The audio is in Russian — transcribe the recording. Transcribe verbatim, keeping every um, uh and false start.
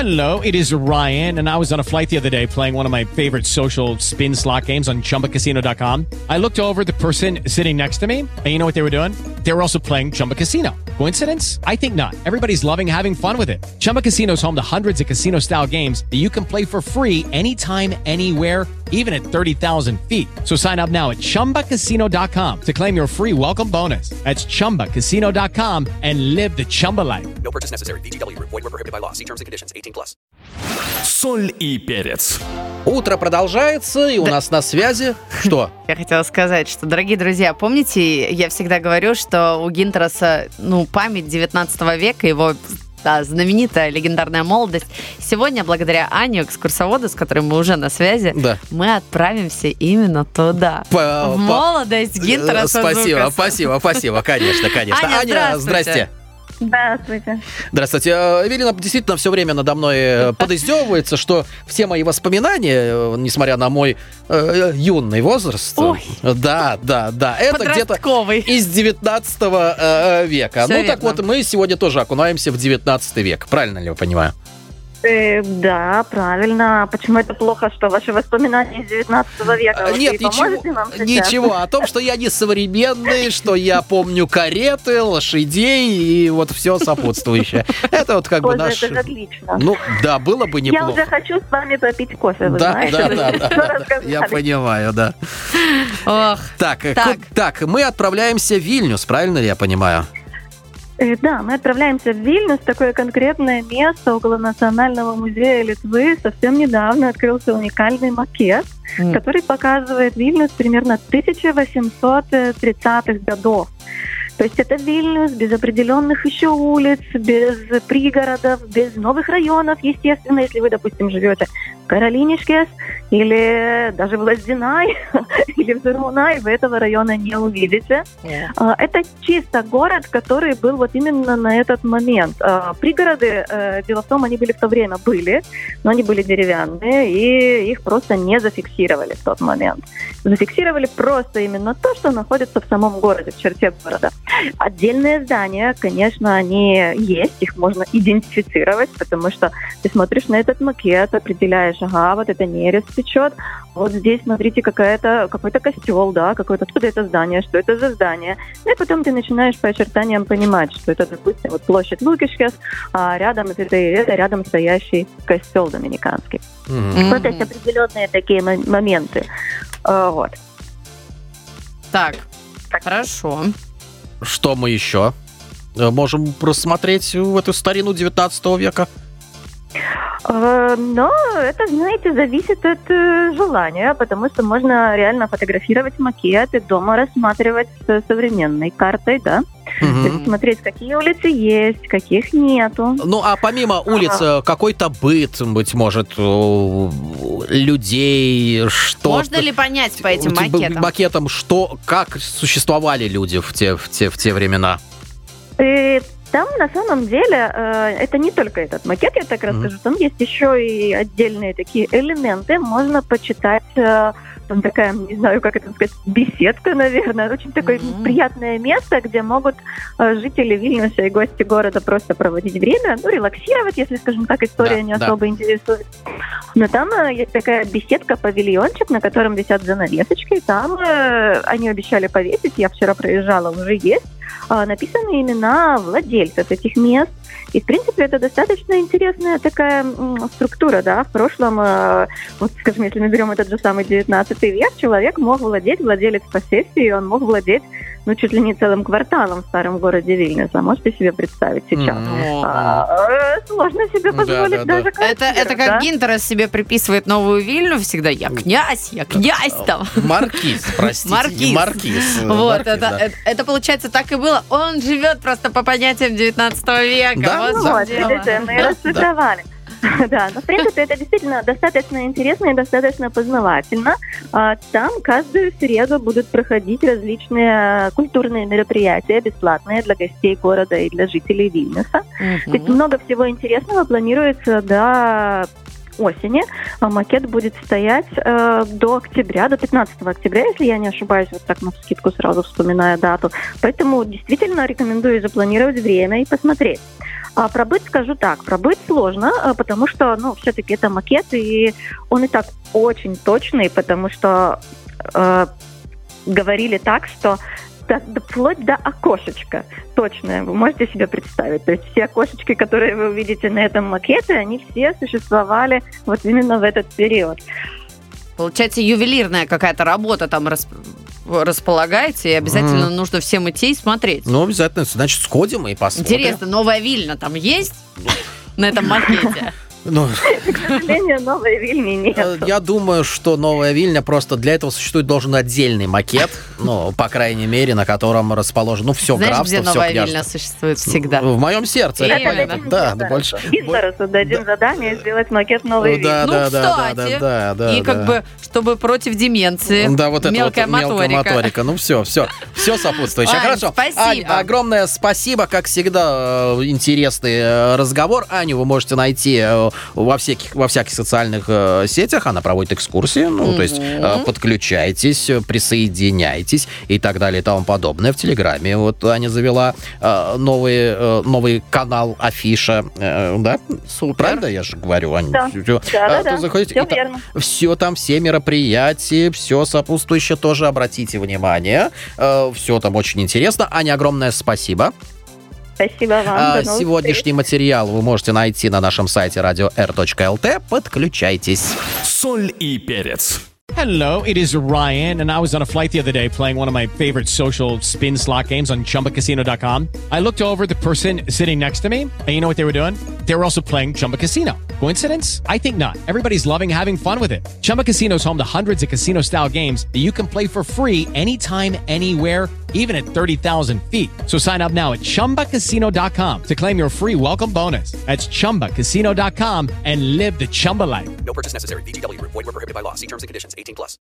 Hello, it is Ryan, and I was on a flight the other day playing one of my favorite social spin slot games on chumba casino dot com. I looked over at the person sitting next to me, and you know what they were doing? They were also playing Chumba Casino. Coincidence? I think not. Everybody's loving having fun with it. Chumba Casino is home to hundreds of casino-style games that you can play for free anytime, anywhere, even at thirty thousand feet. So sign up now at chumba casino dot com to claim your free welcome bonus. That's chumba casino dot com and live the Chumba life. No purchase necessary. ви джи дабл ю. Void where prohibited by law. See terms and conditions. eighteen plus. Соль и перец. Утро продолжается, и у нас на связи... Что? Я хотела сказать, что, дорогие друзья, помните, я всегда говорю, что у Гинтераса, ну, память девятнадцатого века, его... Да, знаменитая легендарная молодость. Сегодня, благодаря Ане, экскурсоводу, с которым мы уже на связи, да. мы отправимся именно туда. По, в по... молодость Гинтераса Спасибо, Зукаса. спасибо, спасибо, конечно, конечно. Аня, Аня, здрасте. Здравствуйте. Здравствуйте. Эвелина действительно все время надо мной подиздевывается, что все мои воспоминания, несмотря на мой э, юный возраст, Ой. да, да, да, это где-то из девятнадцатого э, века. Все ну верно. так вот, мы сегодня тоже окунаемся в девятнадцатый век. Правильно ли я понимаю? Э, да, правильно. Почему это плохо, что ваши воспоминания из девятнадцатого века? Вы Нет, ничего, ничего. О том, что я не современный, что я помню кареты, лошадей и вот все сопутствующее. Это вот как бы наш... Это же отлично. Ну, да, было бы неплохо. Я уже хочу с вами попить кофе, вы да, знаете. Да, вы да, все да, рассказали. я понимаю, да. Ох. Так, Так. ку- так, мы отправляемся в Вильнюс, правильно ли я понимаю? Э, Да, мы отправляемся в Вильнюс, такое конкретное место около Национального музея Литвы. Совсем недавно открылся уникальный макет, М. который показывает Вильнюс примерно тысяча восемьсот тридцатых годов. То есть это Вильнюс без определенных еще улиц, без пригородов, без новых районов, естественно, если вы, допустим, живете в Каролинишкес или даже в Лаздинай или в Зурмунай, вы этого района не увидите. А, Это чисто город, который был вот именно на этот момент. А, Пригороды, э, дело в том, они были в то время были, но они были деревянные, и их просто не зафиксировали в тот момент. Зафиксировали просто именно то, что находится в самом городе, в черте города. Отдельные здания, конечно, они есть, их можно идентифицировать, потому что ты смотришь на этот макет, определяешь, ага, вот это нерест течет, вот здесь, смотрите, какая-то, какой-то костел, да, какое-то, откуда это здание, что это за здание. Ну и потом ты начинаешь по очертаниям понимать, что это, допустим, вот площадь Лукишкес, а рядом это, это рядом стоящий костел доминиканский. Мгм. Вот эти определенные такие мо- моменты. А, Вот. Так, хорошо. Что мы еще э, можем просмотреть в эту старину девятнадцатого века? Э, Но это, знаете, зависит от э, желания, потому что можно реально фотографировать макет и дома рассматривать с современной картой, да? Мгм. То есть смотреть, какие улицы есть, каких нету. Ну, а помимо улиц, э, какой-то быт, быть может, э, людей, что... Можно ли понять по этим Типа, макетам? макетам, что, как существовали люди в те, в те, в те времена? И там на самом деле э, это не только этот макет, я так расскажу, там есть еще и отдельные такие элементы, можно почитать, э, там такая, не знаю, как это сказать, беседка, наверное, очень такое Мгм. приятное место, где могут э, жители Вильнюса и гости города просто проводить время, ну, релаксировать, если, скажем так, история Да, не да. особо интересует. Но там э, есть такая беседка, павильончик, на котором висят занавесочки, там э, они обещали повесить, я вчера проезжала, уже есть, а, написаны имена владельцев этих мест. И, в принципе, это достаточно интересная такая м, структура, да. В прошлом, э, вот, скажем, если мы берем этот же самый девятнадцатый век, человек мог владеть, владелец посессии, он мог владеть, ну, чуть ли не целым кварталом в старом городе Вильнюса. Можете себе представить сейчас? Мгм. А, э, сложно себе Да, позволить да, да. даже Это, квартиру, это как да? Гинтерас себе приписывает новую Вильню всегда. Я князь, я князь там. Маркиз, простите. Маркиз. не Маркиз. э, Вот, Маркиз, это, да. это, это получается так и было. Он живет просто по понятиям девятнадцатого века. Да, вот Ну в чем вот, дело. видите, мы Да, расшифровали. Да, но в принципе это действительно достаточно интересно и достаточно познавательно. А, Там каждую среду будут проходить различные культурные мероприятия, бесплатные для гостей города и для жителей Вильнюса. То есть Мгм. много всего интересного планируется до осени. А Макет будет стоять э, до октября, до пятнадцатого октября, если я не ошибаюсь, вот так навскидку сразу вспоминая дату. Поэтому действительно рекомендую запланировать время и посмотреть. А про быт скажу так. Про быт сложно, а, потому что, ну, все-таки это макет, и он и так очень точный, потому что э, говорили так, что до, до- вплоть до окошечка точное. Вы можете себе представить. То есть все окошечки, которые вы увидите на этом макете, они все существовали вот именно в этот период. Получается, ювелирная какая-то работа там рас- располагается, и обязательно Мгм. нужно всем идти и смотреть. Ну, обязательно, значит, сходим и посмотрим. Интересно, новая Вильна там есть на этом макете? Ну, К сожалению, новой Вильни нет. э, я думаю, что Новая Вильня просто для этого существует должен отдельный макет, ну, по крайней мере, на котором расположено, ну, все Знаешь, графство, где все новая княжество. Вильна существует всегда? В моем сердце. Именно. это понятно. Дадим Да, да, Гинзаресу. больше. Гинзаресу дадим задание сделать макет новой Вильни. Да, Ну, да, да, да, кстати, да, да, да, И как да. бы, чтобы против деменции, Да, вот это мелкая вот мелкая моторика. моторика. Ну все, все, все сопутствующее. Ань, Хорошо. спасибо. Ань, огромное спасибо, как всегда, э, интересный э, разговор. Аню вы можете найти э, во всяких, во всяких социальных э, сетях. Она проводит экскурсии. Ну, то есть э, подключайтесь, э, присоединяйтесь и так далее и тому подобное. В Телеграме вот Аня завела э, новый, э, новый канал Афиша. э, да? Супер. Правда я же говорю, Аня? Да. Всё- Да, да, а, то да. заходите, Всё и там- верно. все там, все мероприятия, все сопутствующее тоже обратите внимание. Все там очень интересно. Аня, огромное спасибо. Спасибо вам. А, До новых Сегодняшний встреч. материал вы можете найти на нашем сайте радио эр точка эл ти. Подключайтесь. Соль и перец. Hello, it is Ryan, and I was on a flight the other day playing one of my favorite social spin slot games on chumba casino dot com. I looked over at the person sitting next to me, and you know what they were doing? They were also playing Chumba Casino. Coincidence? I think not. Everybody's loving having fun with it. Chumba Casino is home to hundreds of casino-style games that you can play for free anytime, anywhere, even at thirty thousand feet. So sign up now at chumba casino dot com to claim your free welcome bonus. That's chumba casino dot com and live the Chumba life. No purchase necessary. V G W. Void where prohibited by law. See terms and conditions. eighteen plus.